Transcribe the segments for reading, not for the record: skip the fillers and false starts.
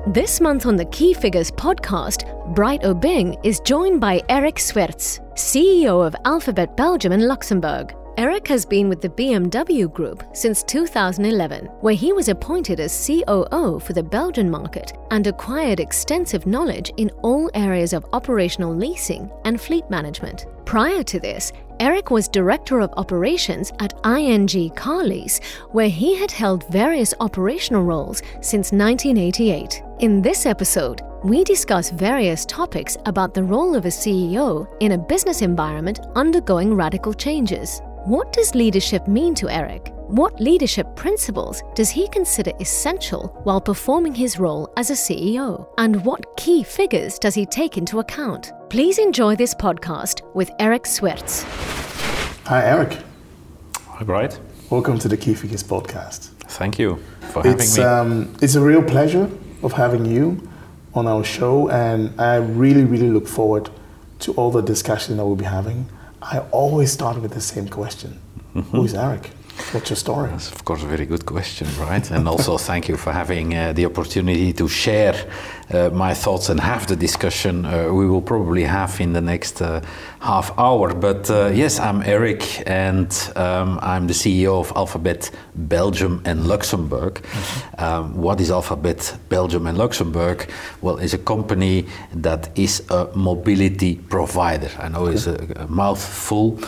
This month on the Key Figures podcast, Bright Obeng is joined by Eric Swerts, CEO of Alphabet Belgium and Luxembourg. Eric has been with the BMW Group since 2011, where he was appointed as COO for the Belgian market and acquired extensive knowledge in all areas of operational leasing and fleet management. Prior to this, Eric was Director of Operations at ING Car Lease, where he had held various operational roles since 1988. In this episode, we discuss various topics about the role of a CEO in a business environment undergoing radical changes. What does leadership mean to Eric? What leadership principles does he consider essential while performing his role as a CEO? And what key figures does he take into account? Please enjoy this podcast with Eric Swerts. Hi, Eric. Hi, Bright. Welcome to the Key Figures podcast. Thank you for having me. It's a real pleasure of having you on our show, and I really look forward to all the discussion that we'll be having. I always start with the same question. Who is Eric? What's your story? That's, of course, a very good question, right? And also thank you for having the opportunity to share my thoughts and have the discussion we will probably have in the next half hour. But yes, I'm Eric, and I'm the CEO of Alphabet Belgium and Luxembourg. What is Alphabet Belgium and Luxembourg? Well, it's a company that is a mobility provider. I know it's a mouthful.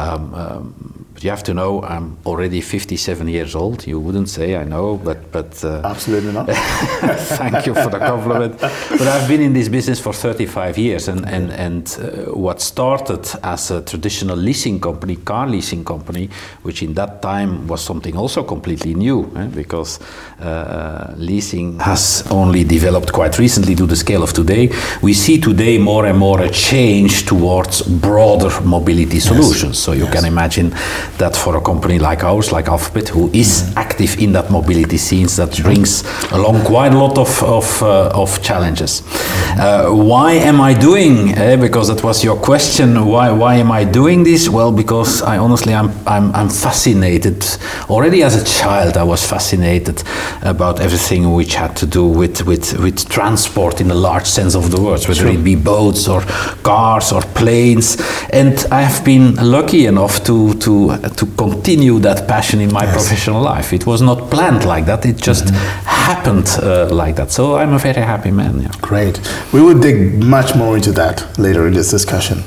But you have to know I'm already 57 years old. You wouldn't say, I know, but absolutely not. Thank you for the compliment. But I've been in this business for 35 years, and what started as a traditional leasing company, car leasing company, which in that time was something also completely new, because leasing has only developed quite recently to the scale of today. We see today more and more a change towards broader mobility solutions. So you can imagine that for a company like ours, like Alphabet, who is active in that mobility scenes, that brings along quite a lot of challenges. Why am I doing? Because that was your question. Why am I doing this? Well, because I honestly I'm fascinated. Already as a child, I was fascinated about everything which had to do with transport in the large sense of the word, whether it be boats or cars or planes. And I have been lucky enough to continue that passion in my professional life. It was not planned like that. It just happened like that. So I'm a very happy man. Yeah. Great. We will dig much more into that later in this discussion.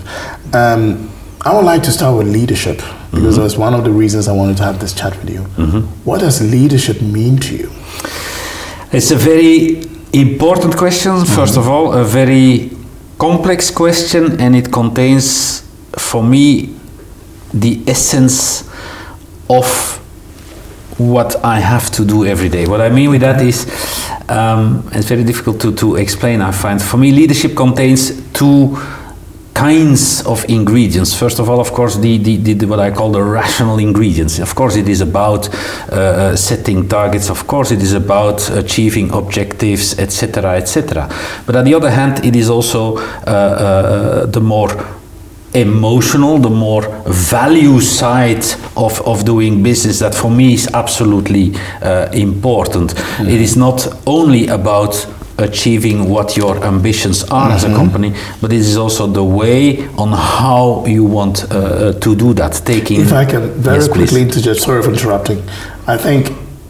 I would like to start with leadership, because that's one of the reasons I wanted to have this chat with you. What does leadership mean to you? It's a very important question. First of all, a very complex question, and it contains, for me, the essence of what I have to do every day. What I mean with that is, it's very difficult to explain, I find. For me, leadership contains two kinds of ingredients. First of all, of course, the what I call the rational ingredients. Of course, it is about setting targets. Of course, it is about achieving objectives, etc., etc. But on the other hand, it is also the more emotional, the more value side of doing business that for me is absolutely important. It is not only about achieving what your ambitions are as a company, but it is also the way on how you want to do that. If I can very quickly interject, sorry for interrupting. I think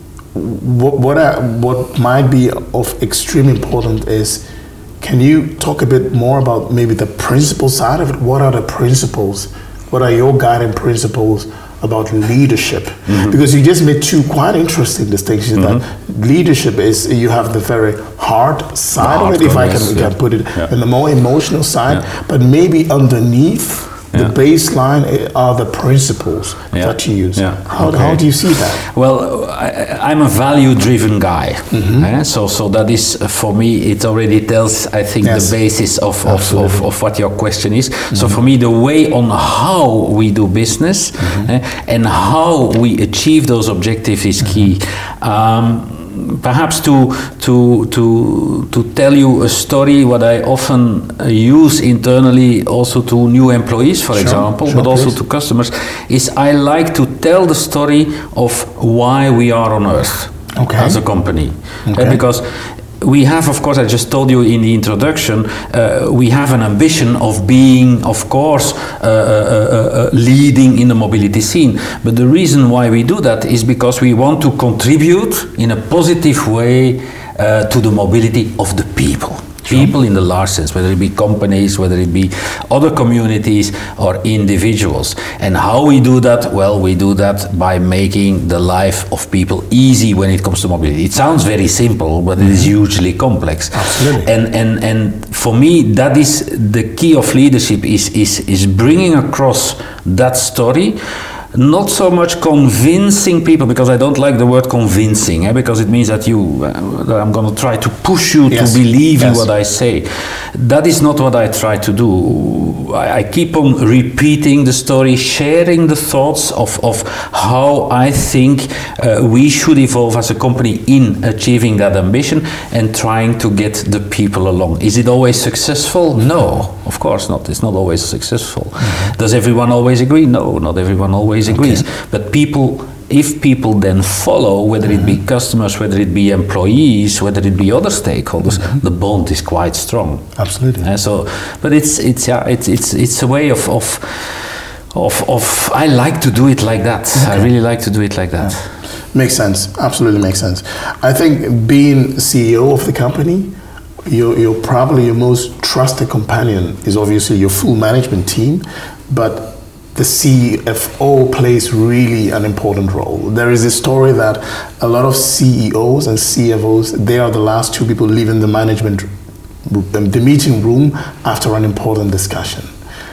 what might be of extreme importance is, can you talk a bit more about maybe the principle side of it? What are the principles? What are your guiding principles about leadership? Because you just made two quite interesting distinctions. That leadership is, you have the very hard side of it, if I can put it, and the more emotional side, but maybe underneath the baseline are the principles that you use. How do you see that? Well, I'm a value-driven guy. So that is, for me, it already tells, I think, the basis of what your question is. So for me, the way on how we do business and how we achieve those objectives is key. Perhaps to tell you a story, what I often use internally also to new employees, for example, but also to customers, is I like to tell the story of why we are on Earth as a company. Because we have, of course, I just told you in the introduction, we have an ambition of being, of course, leading in the mobility scene. But the reason why we do that is because we want to contribute in a positive way to the mobility of the people. People in the large sense, whether it be companies, whether it be other communities or individuals. And how we do that? Well, we do that by making the life of people easy when it comes to mobility. It sounds very simple, but it is hugely complex. Absolutely. And for me, that is the key of leadership, is bringing across that story. Not so much convincing people, because I don't like the word convincing, because it means that I'm going to try to push you to believe in what I say. That is not what I try to do. I keep on repeating the story, sharing the thoughts of how I think we should evolve as a company in achieving that ambition and trying to get the people along. Is it always successful? No, of course not. It's not always successful. Mm-hmm. Does everyone always agree? No, not everyone always agrees. Okay. But if people then follow, whether it be customers, whether it be employees, whether it be other stakeholders, the bond is quite strong. Absolutely. But it's a way of I like to do it like that. Okay. I really like to do it like that. Yeah. Makes sense. Absolutely makes sense. I think being CEO of the company, you're probably your most trusted companion is obviously your full management team, but the CFO plays really an important role. There is a story that a lot of CEOs and CFOs, they are the last two people leaving the the meeting room after an important discussion.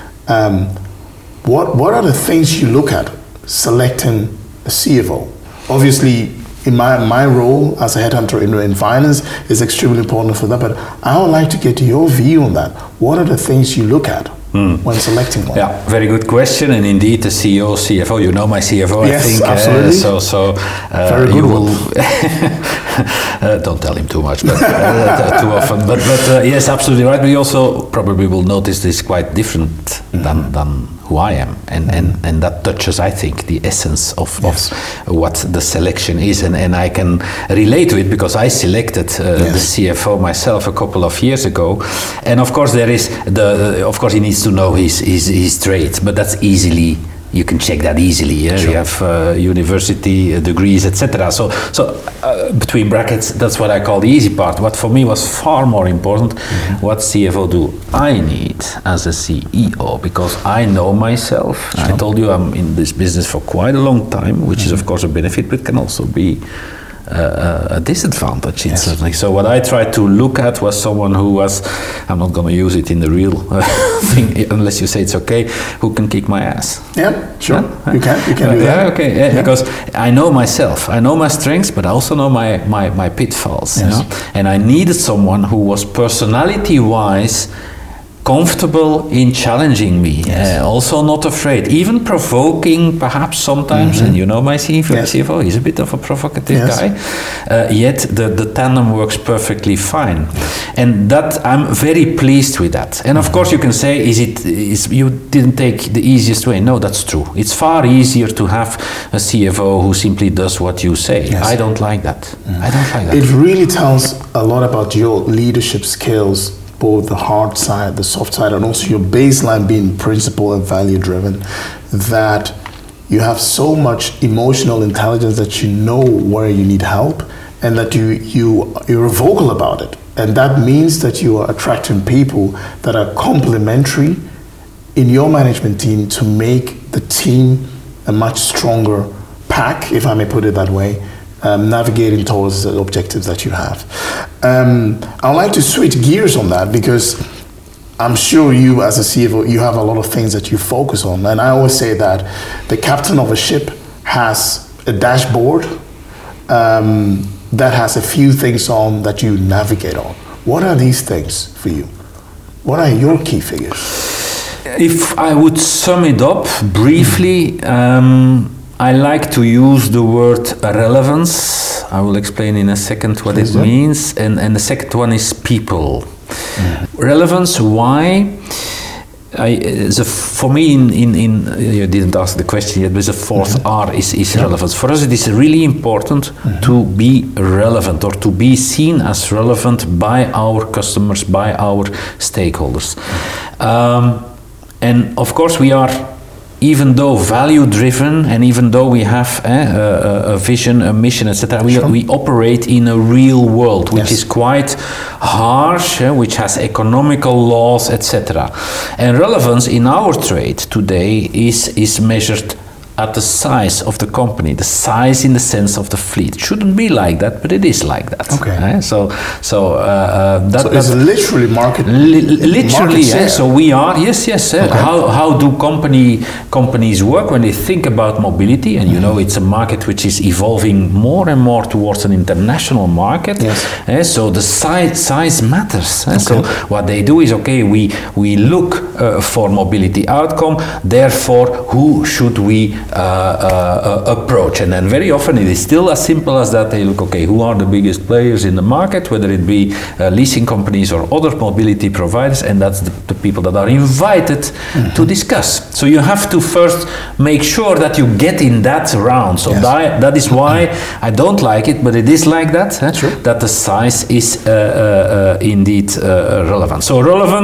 What are the things you look at selecting a CFO? Obviously, in my role as a headhunter in finance is extremely important for that, but I would like to get your view on that. What are the things you look at when selecting one? Yeah, very good question. And indeed, the CEO, CFO, you know my CFO, yes, I think. Absolutely. Very good. Don't tell him too much, but too often. But yes, absolutely right. But you also probably will notice this is quite different than who I am, and that touches, I think, the essence of what the selection is, and I can relate to it because I selected the CFO myself a couple of years ago, and of course there is of course he needs to know his trade, but that's easily. You can check that easily. Yeah? Sure. You have university degrees, etc. So between brackets, that's what I call the easy part. What for me was far more important, what CFO do I need as a CEO, because I know myself. Sure. I told you I'm in this business for quite a long time, which is of course a benefit, but can also be a disadvantage. Yes. Certainly. So what I tried to look at was someone who was, I'm not going to use it in the real thing unless you say it's okay, who can kick my ass. Yeah, sure. Yeah? You can do that. Okay. Yeah. Because I know myself. I know my strengths, but I also know my pitfalls. Yes. You know? And I needed someone who was personality-wise comfortable in challenging me, also not afraid, even provoking perhaps sometimes, and you know my CFO, he's a bit of a provocative guy, yet the tandem works perfectly fine. And that, I'm very pleased with that. And of course you can say, you didn't take the easiest way. No, that's true. It's far easier to have a CFO who simply does what you say. Yes. I don't like that. I don't like that. It really tells a lot about your leadership skills, both the hard side, the soft side, and also your baseline being principle and value driven, that you have so much emotional intelligence that you know where you need help, and that you're vocal about it. And that means that you are attracting people that are complementary in your management team to make the team a much stronger pack, if I may put it that way, navigating towards the objectives that you have. I'd like to switch gears on that, because I'm sure you as a CFO, you have a lot of things that you focus on. And I always say that the captain of a ship has a dashboard that has a few things on that you navigate on. What are these things for you? What are your key figures? If I would sum it up briefly, I like to use the word relevance. I will explain in a second what it means. And the second one is people. Relevance, why? For me, you didn't ask the question yet, but the fourth R is relevance. For us, it is really important to be relevant, or to be seen as relevant by our customers, by our stakeholders. And of course, we are, even though value-driven, and even though we have a vision, a mission, etc., we operate in a real world, which is quite harsh, which has economical laws, etc. And relevance in our trade today is measured at the size of the company, the size in the sense of the fleet. It shouldn't be like that, but it is like that. Okay. So it's literally market. Literally, market so we are. Yes. Okay. How do companies work when they think about mobility? And you know, it's a market which is evolving more and more towards an international market. Yes. So the size matters. Okay. So what they do is, we look for mobility outcome. Therefore, who should we approach? And then very often it is still as simple as that. They look, who are the biggest players in the market, whether it be leasing companies or other mobility providers, and that's the people that are invited to discuss. So you have to first make sure that you get in that round. So that is why I don't like it, but it is like that, that the size is indeed relevant. So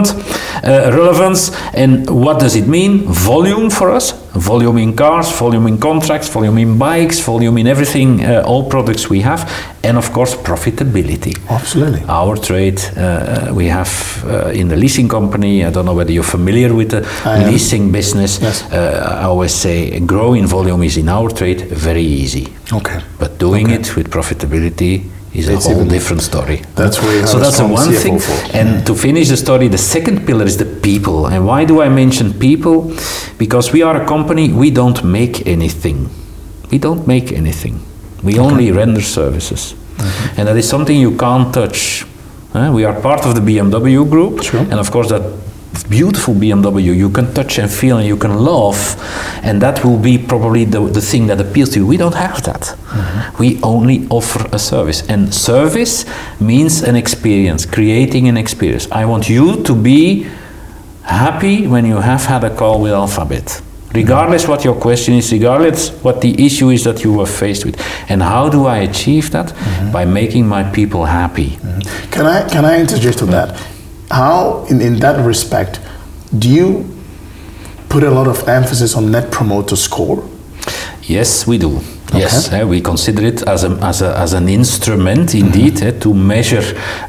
relevance, and what does it mean? Volume for us. Volume in cars, volume in contracts, volume in bikes, volume in everything, all products we have, and of course profitability. Absolutely. Our trade, we have in the leasing company, I don't know whether you're familiar with the leasing business. Yes. I always say growing volume is in our trade very easy. Okay. But doing it with profitability is a whole different story. That's where you have that's the one thing. And to finish the story, the second pillar is the people. And why do I mention people? Because we are a company, we don't make anything. We don't make anything. We only render services. And that is something you can't touch. We are part of the BMW group. Sure. And of course that beautiful BMW you can touch and feel and you can love, and that will be probably the thing that appeals to you. We don't have that. We only offer a service, and service means an experience, creating an experience. I want you to be happy when you have had a call with Alphabet, regardless what your question is, regardless what the issue is that you were faced with. And how do I achieve that? By making my people happy. Can I interject on that? How, in that respect, do you put a lot of emphasis on Net Promoter Score? Yes, we do. Yes, we consider it as an instrument, indeed, to measure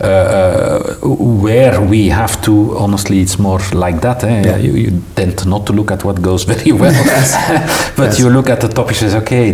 where we have to. Honestly, it's more like that. You tend not to look at what goes very well, but you look at the topic and say,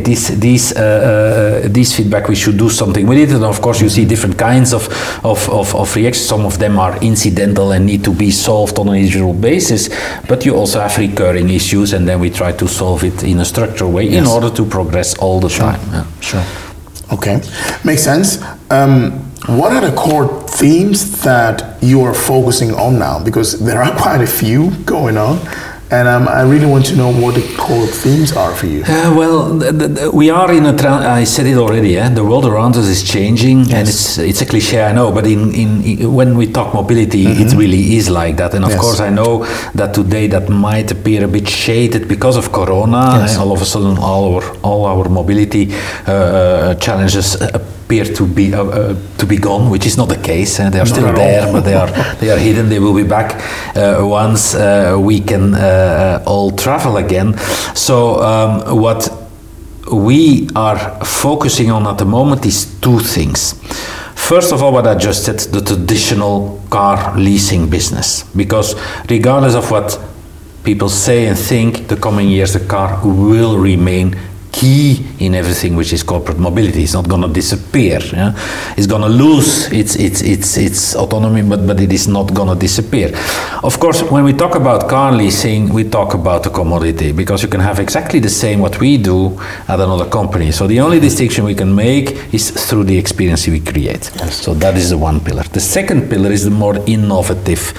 this feedback, we should do something with it. And of course, you see different kinds of reactions. Some of them are incidental and need to be solved on an individual basis, but you also have recurring issues, and then we try to solve it in a structured way in order to progress all the time. Sure. Okay, makes sense. What are the core themes that you are focusing on now? Because there are quite a few going on, and I really want to know what the core themes are for you. We are in I said it already. The world around us is changing, and it's a cliche, I know. But when we talk mobility, it really is like that. And of course, I know that today that might appear a bit shaded because of Corona. All of a sudden, all our mobility challenges appear to be gone, which is not the case. They are still there, but they are hidden. They will be back once we can all travel again. So what we are focusing on at the moment is two things. First of all, what I just said, the traditional car leasing business, because regardless of what people say and think, the coming years the car will remain key in everything which is corporate mobility. It's not going to disappear. It's going to lose its autonomy, but it is not going to disappear. Of course, when we talk about car leasing, we talk about a commodity, because you can have exactly the same what we do at another company. So the only distinction we can make is through the experience we create. So that is the one pillar. The second pillar is the more innovative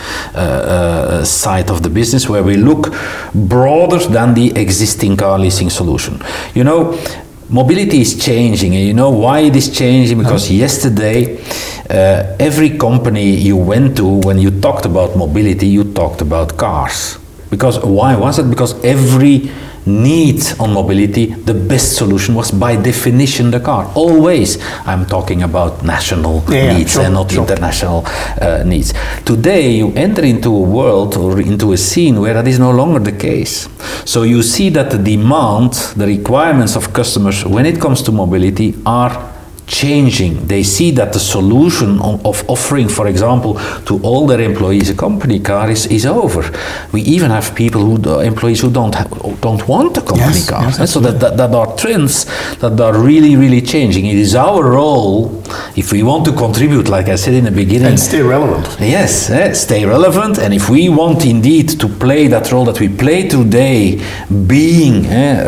side of the business, where we look broader than the existing car leasing solution. You know, mobility is changing, and you know why it is changing? Because yesterday, every company you went to, when you talked about mobility, you talked about cars. Because why was it? Because every need on mobility, the best solution was by definition the car. Always, I'm talking about national needs and not international needs. Today, you enter into a world or into a scene where that is no longer the case. So you see that the demand, the requirements of customers when it comes to mobility are changing. They see that the solution of offering, for example, to all their employees a company car is over. We even have employees who don't want a company car. Yes, so that are trends that are really, really changing. It is our role, if we want to contribute, like I said in the beginning, and stay relevant. Yes, stay relevant. And if we want indeed to play that role that we play today, being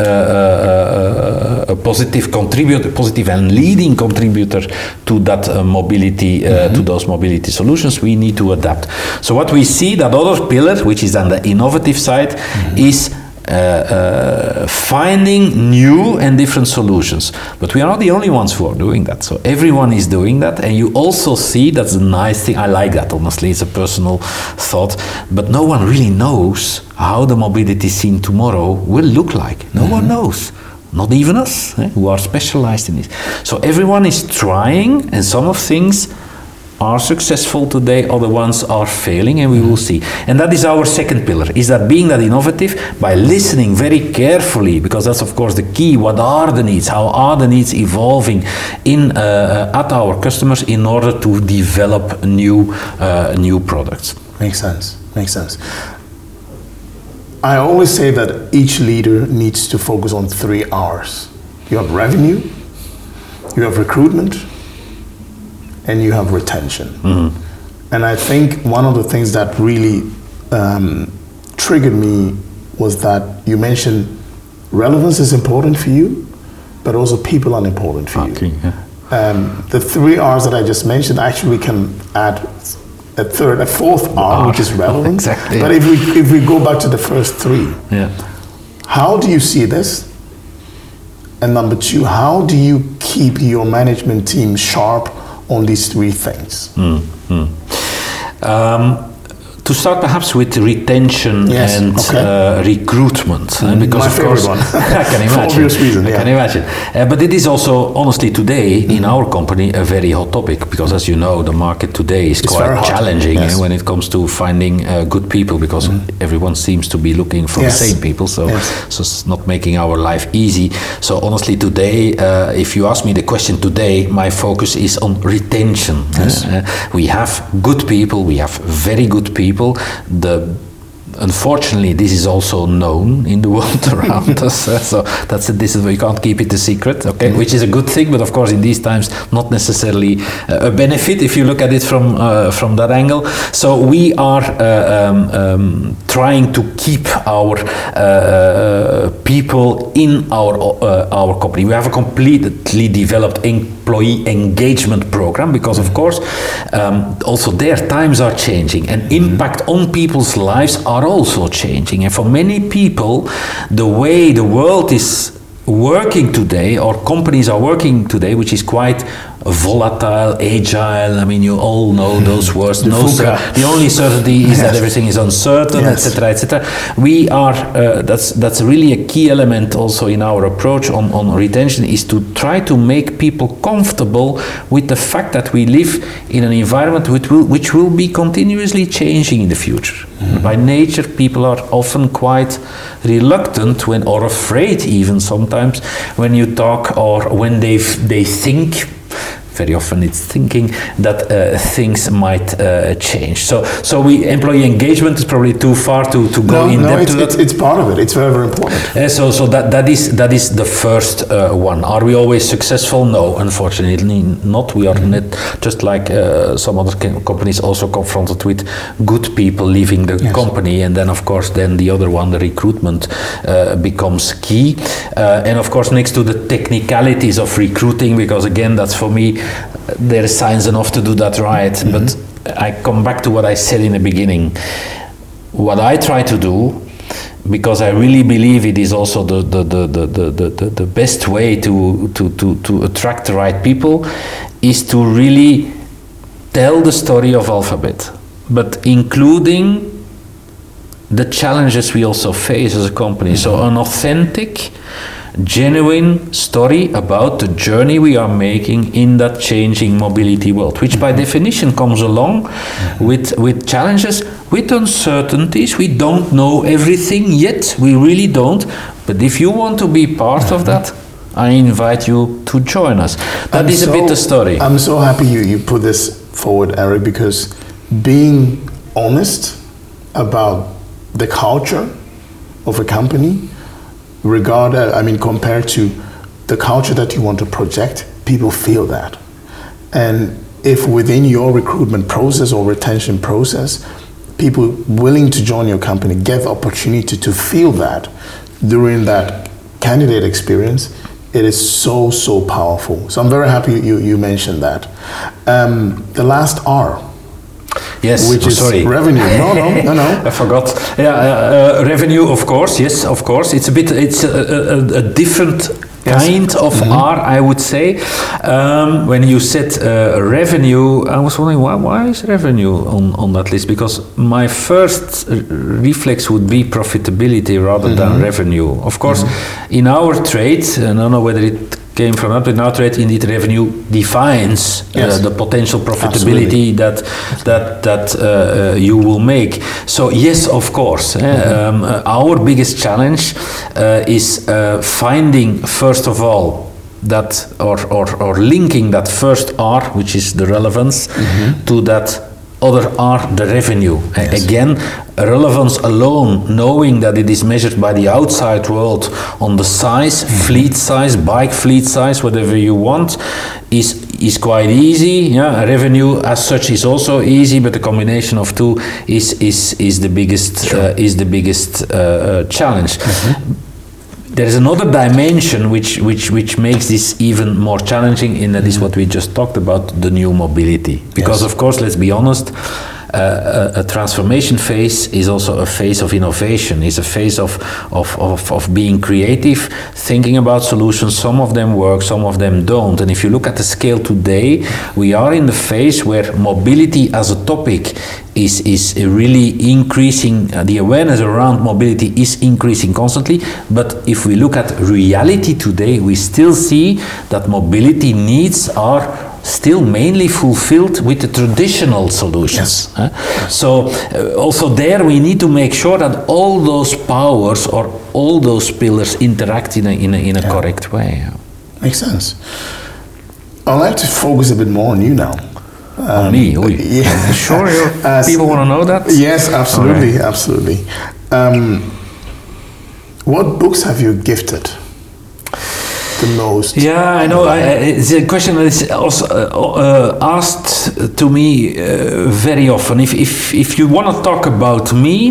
a positive contributor, positive and leading contributor to that mobility, to those mobility solutions, we need to adapt. So what we see, that other pillar, which is on the innovative side, is finding new and different solutions. But we are not the only ones who are doing that. So everyone is doing that, and you also see, that's a nice thing, I like that, honestly, it's a personal thought, but no one really knows how the mobility scene tomorrow will look like. No one knows. Not even us, who are specialized in this. So everyone is trying, and some of things are successful today, other ones are failing, and we will see. And that is our second pillar, is that being that innovative by listening very carefully, because that's of course the key. What are the needs? How are the needs evolving at our customers in order to develop new products? Makes sense. I always say that each leader needs to focus on 3 R's. You have revenue, you have recruitment, and you have retention. And I think one of the things that really triggered me was that you mentioned relevance is important for you, but also people are important for you. The 3 R's that I just mentioned, actually can add a fourth R, which is relevant. Exactly. But if we go back to the first 3, how do you see this? And number 2, how do you keep your management team sharp on these 3 things? To start perhaps with retention and recruitment, because my of course, one. I can imagine. For obvious reason, I can imagine. But it is also, honestly, today in our company a very hot topic, because as you know, the market today is quite challenging when it comes to finding good people, because everyone seems to be looking for the same people, so it's not making our life easy. So honestly, today, if you ask me the question today, my focus is on retention. We have good people, we have very good people. Unfortunately, this is also known in the world around us. So we can't keep it a secret, which is a good thing, but of course in these times not necessarily a benefit if you look at it from that angle. So we are trying to keep our people in our company. We have a completely developed employee engagement program, because of course also their times are changing, and impact on people's lives are also changing. And for many people, the way the world is working today, or companies are working today, which is quite volatile, agile. I mean, you all know those words. The only certainty is that everything is uncertain, etc., etc. We are. That's really a key element also in our approach on retention, is to try to make people comfortable with the fact that we live in an environment which will be continuously changing in the future. By nature, people are often quite reluctant or afraid even sometimes when you talk, or when they think. Very often it's thinking that things might change. So employee engagement is probably too far to go in depth to that. It's part of it. It's very, very important. So that is the first one. Are we always successful? No, unfortunately not. We are not, just like some other companies, also confronted with good people leaving the company, and then of course the other one, the recruitment, becomes key. And of course, next to the technicalities of recruiting, because again, that's for me. There is science enough to do that right, but I come back to what I said in the beginning. What I try to do, because I really believe it is also the best way to attract the right people, is to really tell the story of Alphabet, but including the challenges we also face as a company. So an authentic, genuine story about the journey we are making in that changing mobility world, which by definition comes along with challenges, with uncertainties. We don't know everything yet, we really don't. But if you want to be part of that, I invite you to join us. That is a bit the story. I'm so happy you put this forward, Eric, because being honest about the culture of a company, compared to the culture that you want to project, people feel that. And if within your recruitment process or retention process, people willing to join your company get the opportunity to feel that during that candidate experience, it is so powerful. So I'm very happy you mentioned that. The last R. Yes, which is sorry. Revenue. No. I forgot. Yeah, revenue, of course. Yes, of course. It's a different kind of R, I would say. When you said revenue, I was wondering why is revenue on that list? Because my first reflex would be profitability rather than revenue. Of course, in our trade, and I don't know whether it came from that, but in our trade, indeed, revenue defines the potential profitability that you will make. So yes, of course, our biggest challenge is finding, first of all, that or linking that first R, which is the relevance, to that other R, the revenue. Yes. Again, relevance alone, knowing that it is measured by the outside world on the size, fleet size, bike fleet size, whatever you want, is quite easy. Yeah, revenue as such is also easy, but the combination of two is the biggest challenge. There is another dimension which makes this even more challenging, and that is what we just talked about, the new mobility. Because of course, let's be honest, a transformation phase is also a phase of innovation, is a phase of being creative, thinking about solutions. Some of them work, some of them don't. And if you look at the scale today, we are in the phase where mobility as a topic is really increasing. The awareness around mobility is increasing constantly. But if we look at reality today, we still see that mobility needs are still mainly fulfilled with the traditional solutions. Yes. So also there we need to make sure that all those powers or all those pillars interact in a correct way. Makes sense. I'd like to focus a bit more on you now. On me? Yeah. Sure, people want to know that? Yes, absolutely, absolutely. What books have you gifted the most? Yeah, I know. It's a question that is also asked to me very often. If you want to talk about me,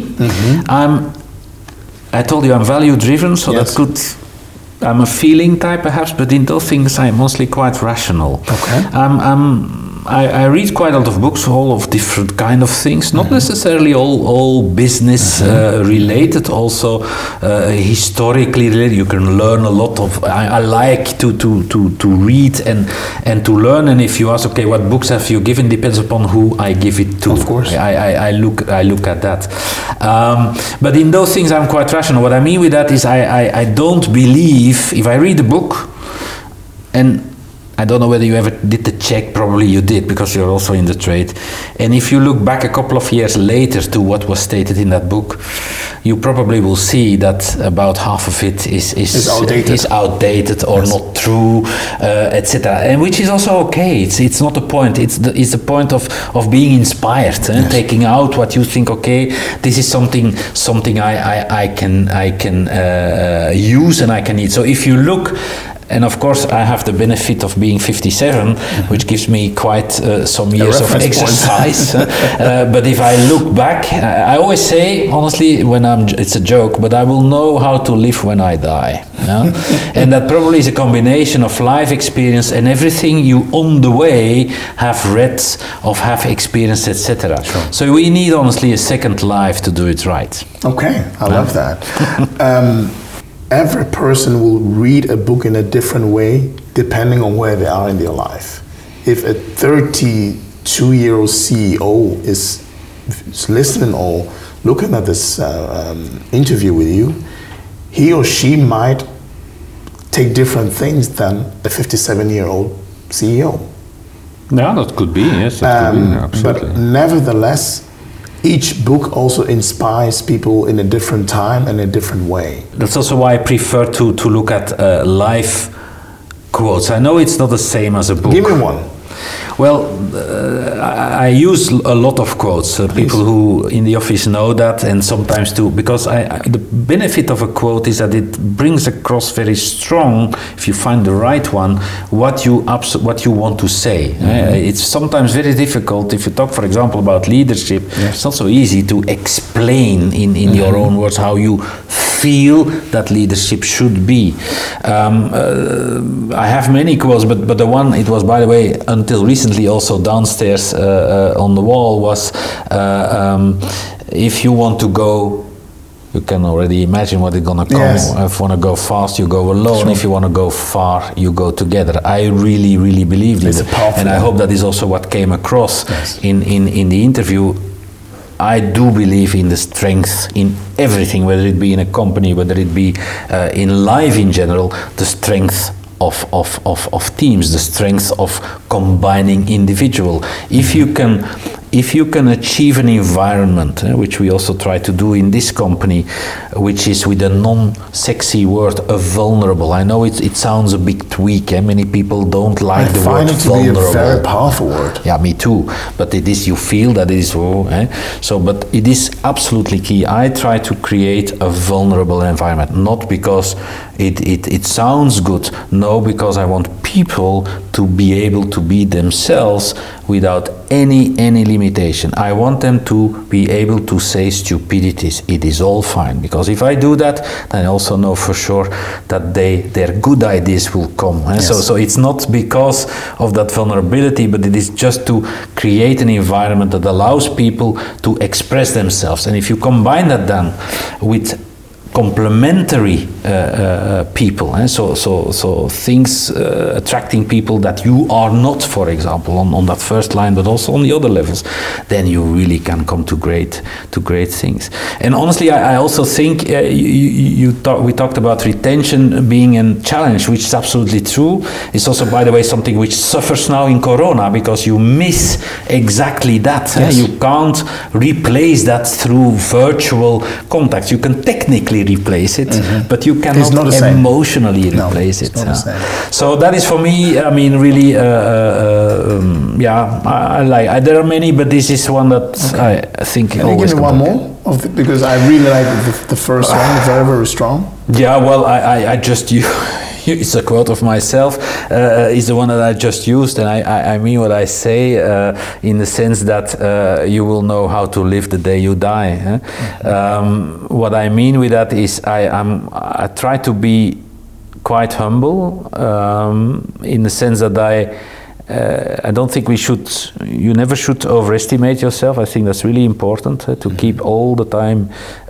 I told you I'm value driven, so that could. I'm a feeling type perhaps, but in those things I'm mostly quite rational. Okay. I read quite a lot of books, all of different kind of things, not necessarily all business related, also historically related. You can learn a lot of. I like to read and to learn. And if you ask, okay, what books have you given? Depends upon who I give it to. Of course. I look at that. But in those things, I'm quite rational. What I mean with that is I don't believe if I read a book and. I don't know whether you ever did the check, probably you did because you're also in the trade. And if you look back a couple of years later to what was stated in that book, you probably will see that about half of it is outdated or not true, etc. And which is also okay. It's not the point. It's the point of being inspired, taking out what you think. Okay, this is something I can use and I can eat. So if you look. And of course, I have the benefit of being 57, which gives me quite some years of exercise. But if I look back, I always say, honestly, it's a joke, but I will know how to live when I die. And that probably is a combination of life experience and everything you on the way have read, have experienced, etc. Sure. So we need, honestly, a second life to do it right. Okay, I love that. Every person will read a book in a different way depending on where they are in their life. If a 32-year-old CEO is listening or looking at this interview with you, he or she might take different things than a 57-year-old CEO. Yeah, that could be, yes, that could be, absolutely. But nevertheless, each book also inspires people in a different time and a different way. That's also why I prefer to look at live quotes. I know it's not the same as a book. Give me one. Well, I use a lot of quotes. People who in the office know that, and sometimes too, because the benefit of a quote is that it brings across very strong, if you find the right one, what you want to say. It's sometimes very difficult if you talk, for example, about leadership. Yes. It's not so easy to explain in your own words how you feel that leadership should be. I have many quotes, but the one, it was, by the way, until recently also downstairs on the wall, was if you want to go, you can already imagine what it's gonna come. Yes. If you want to go fast, you go alone. Sure. If you want to go far, you go together. I really, really believe in it, and I hope that is also what came across. Yes. in the interview. I do believe in the strength in everything, whether it be in a company, whether it be in life in general, the strength of teams, the strength of combining individual. If you can achieve an environment, which we also try to do in this company, which is, with a non-sexy word, a vulnerable. I know it sounds a bit weak, many people don't like the word vulnerable. I find it to be a very powerful word. Yeah, me too. But it is, you feel that it is, so, but it is absolutely key. I try to create a vulnerable environment, not because it sounds good, no, because I want people to be able to be themselves without any limitation. I want them to be able to say stupidities. It is all fine, because if I do that, then I also know for sure that their good ideas will come. Yes. So it's not because of that vulnerability, but it is just to create an environment that allows people to express themselves. And if you combine that then with complementary people, so things attracting people that you are not, for example, on that first line, but also on the other levels, then you really can come to great things. And honestly, I also think we talked about retention being a challenge, which is absolutely true. It's also, by the way, something which suffers now in Corona, because you miss exactly that. Yes. You can't replace that through virtual contacts. You can technically replace it, but you cannot emotionally replace it. So that is, for me, I mean, really, I like. There are many, but this is one that I think. Can you give me one more? Because I really like the first one, very, very strong. Yeah, well, I just it's a quote of myself, is the one that I just used, and I mean what I say, in the sense that you will know how to live the day you die. What I mean with that is I try to be quite humble, in the sense that I don't think you never should overestimate yourself. I think that's really important, to keep all the time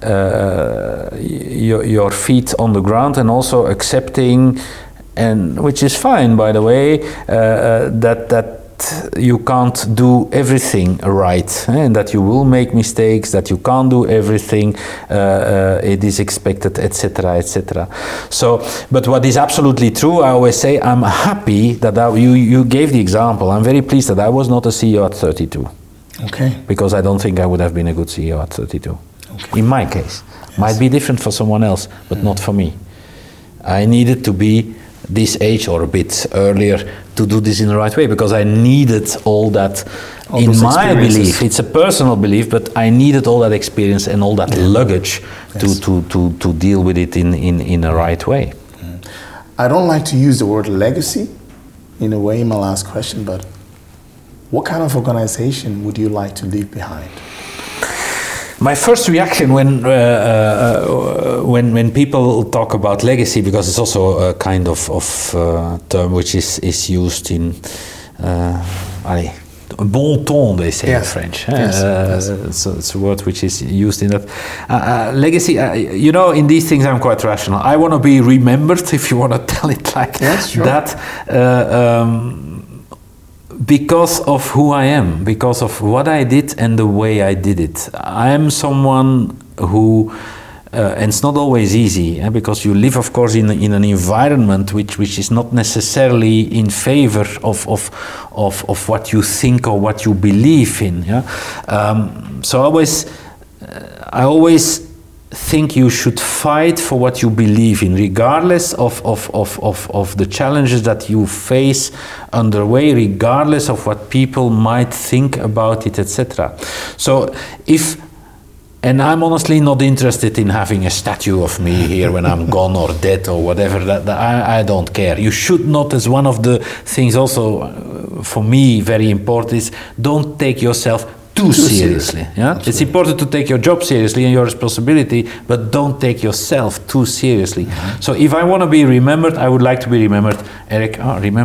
your feet on the ground, and also accepting, and which is fine, by the way, that you can't do everything right, and that you will make mistakes, that you can't do everything, it is expected, etc., etc. So, but what is absolutely true, I always say, I'm happy that you gave the example. I'm very pleased that I was not a CEO at 32. Okay. Because I don't think I would have been a good CEO at 32. Okay. In my case. Yes. Might be different for someone else, but not for me. I needed to be this age or a bit earlier to do this in the right way, because I needed all that, in my belief. It's a personal belief, but I needed all that experience and all that luggage to deal with it in the right way. I don't like to use the word legacy in a way in my last question, but what kind of organization would you like to leave behind? My first reaction when people talk about legacy, because it's also a kind of term which is used in bon ton, they say in French. So it's a word which is used in that. Legacy, in these things I'm quite rational. I want to be remembered, if you want to tell it like that. because of who I am, because of what I did and the way I did it. I am someone who, and it's not always easy, because you live, of course, in an environment which is not necessarily in favor of what you think or what you believe in. Yeah? So I always think you should fight for what you believe in, regardless of the challenges that you face underway, regardless of what people might think about it, etc. So and I'm honestly not interested in having a statue of me here when I'm gone or dead or whatever. That I don't care. You should not, as one of the things also for me very important, is don't take yourself too seriously. Yeah? It's important to take your job seriously and your responsibility, but don't take yourself too seriously. Mm-hmm. So if I want to be remembered, I would like to be remembered, Eric,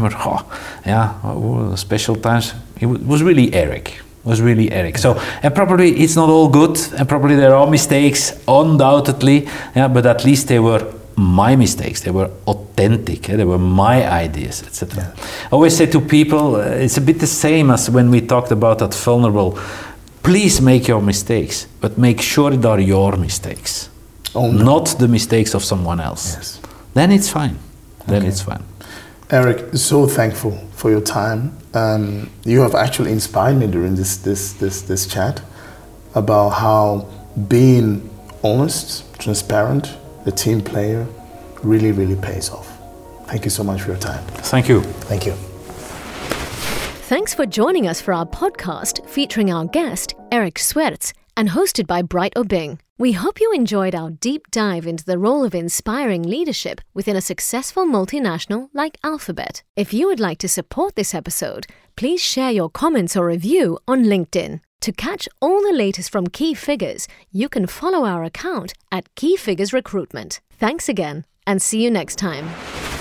special times, it was really Eric. So, and probably it's not all good, and probably there are mistakes, undoubtedly, but at least they were my mistakes, they were authentic, they were my ideas, etc. Yeah. I always say to people, it's a bit the same as when we talked about that vulnerable. Please make your mistakes, but make sure they are your mistakes, not the mistakes of someone else. Yes. Then it's fine. Eric, so thankful for your time. You have actually inspired me during this chat about how being honest, transparent, a team player really, really pays off. Thank you so much for your time. Thank you. Thank you. Thanks for joining us for our podcast featuring our guest, Eric Swerts, and hosted by Bright Obeng. We hope you enjoyed our deep dive into the role of inspiring leadership within a successful multinational like Alphabet. If you would like to support this episode, please share your comments or review on LinkedIn. To catch all the latest from Key Figures, you can follow our account at Key Figures Recruitment. Thanks again, and see you next time.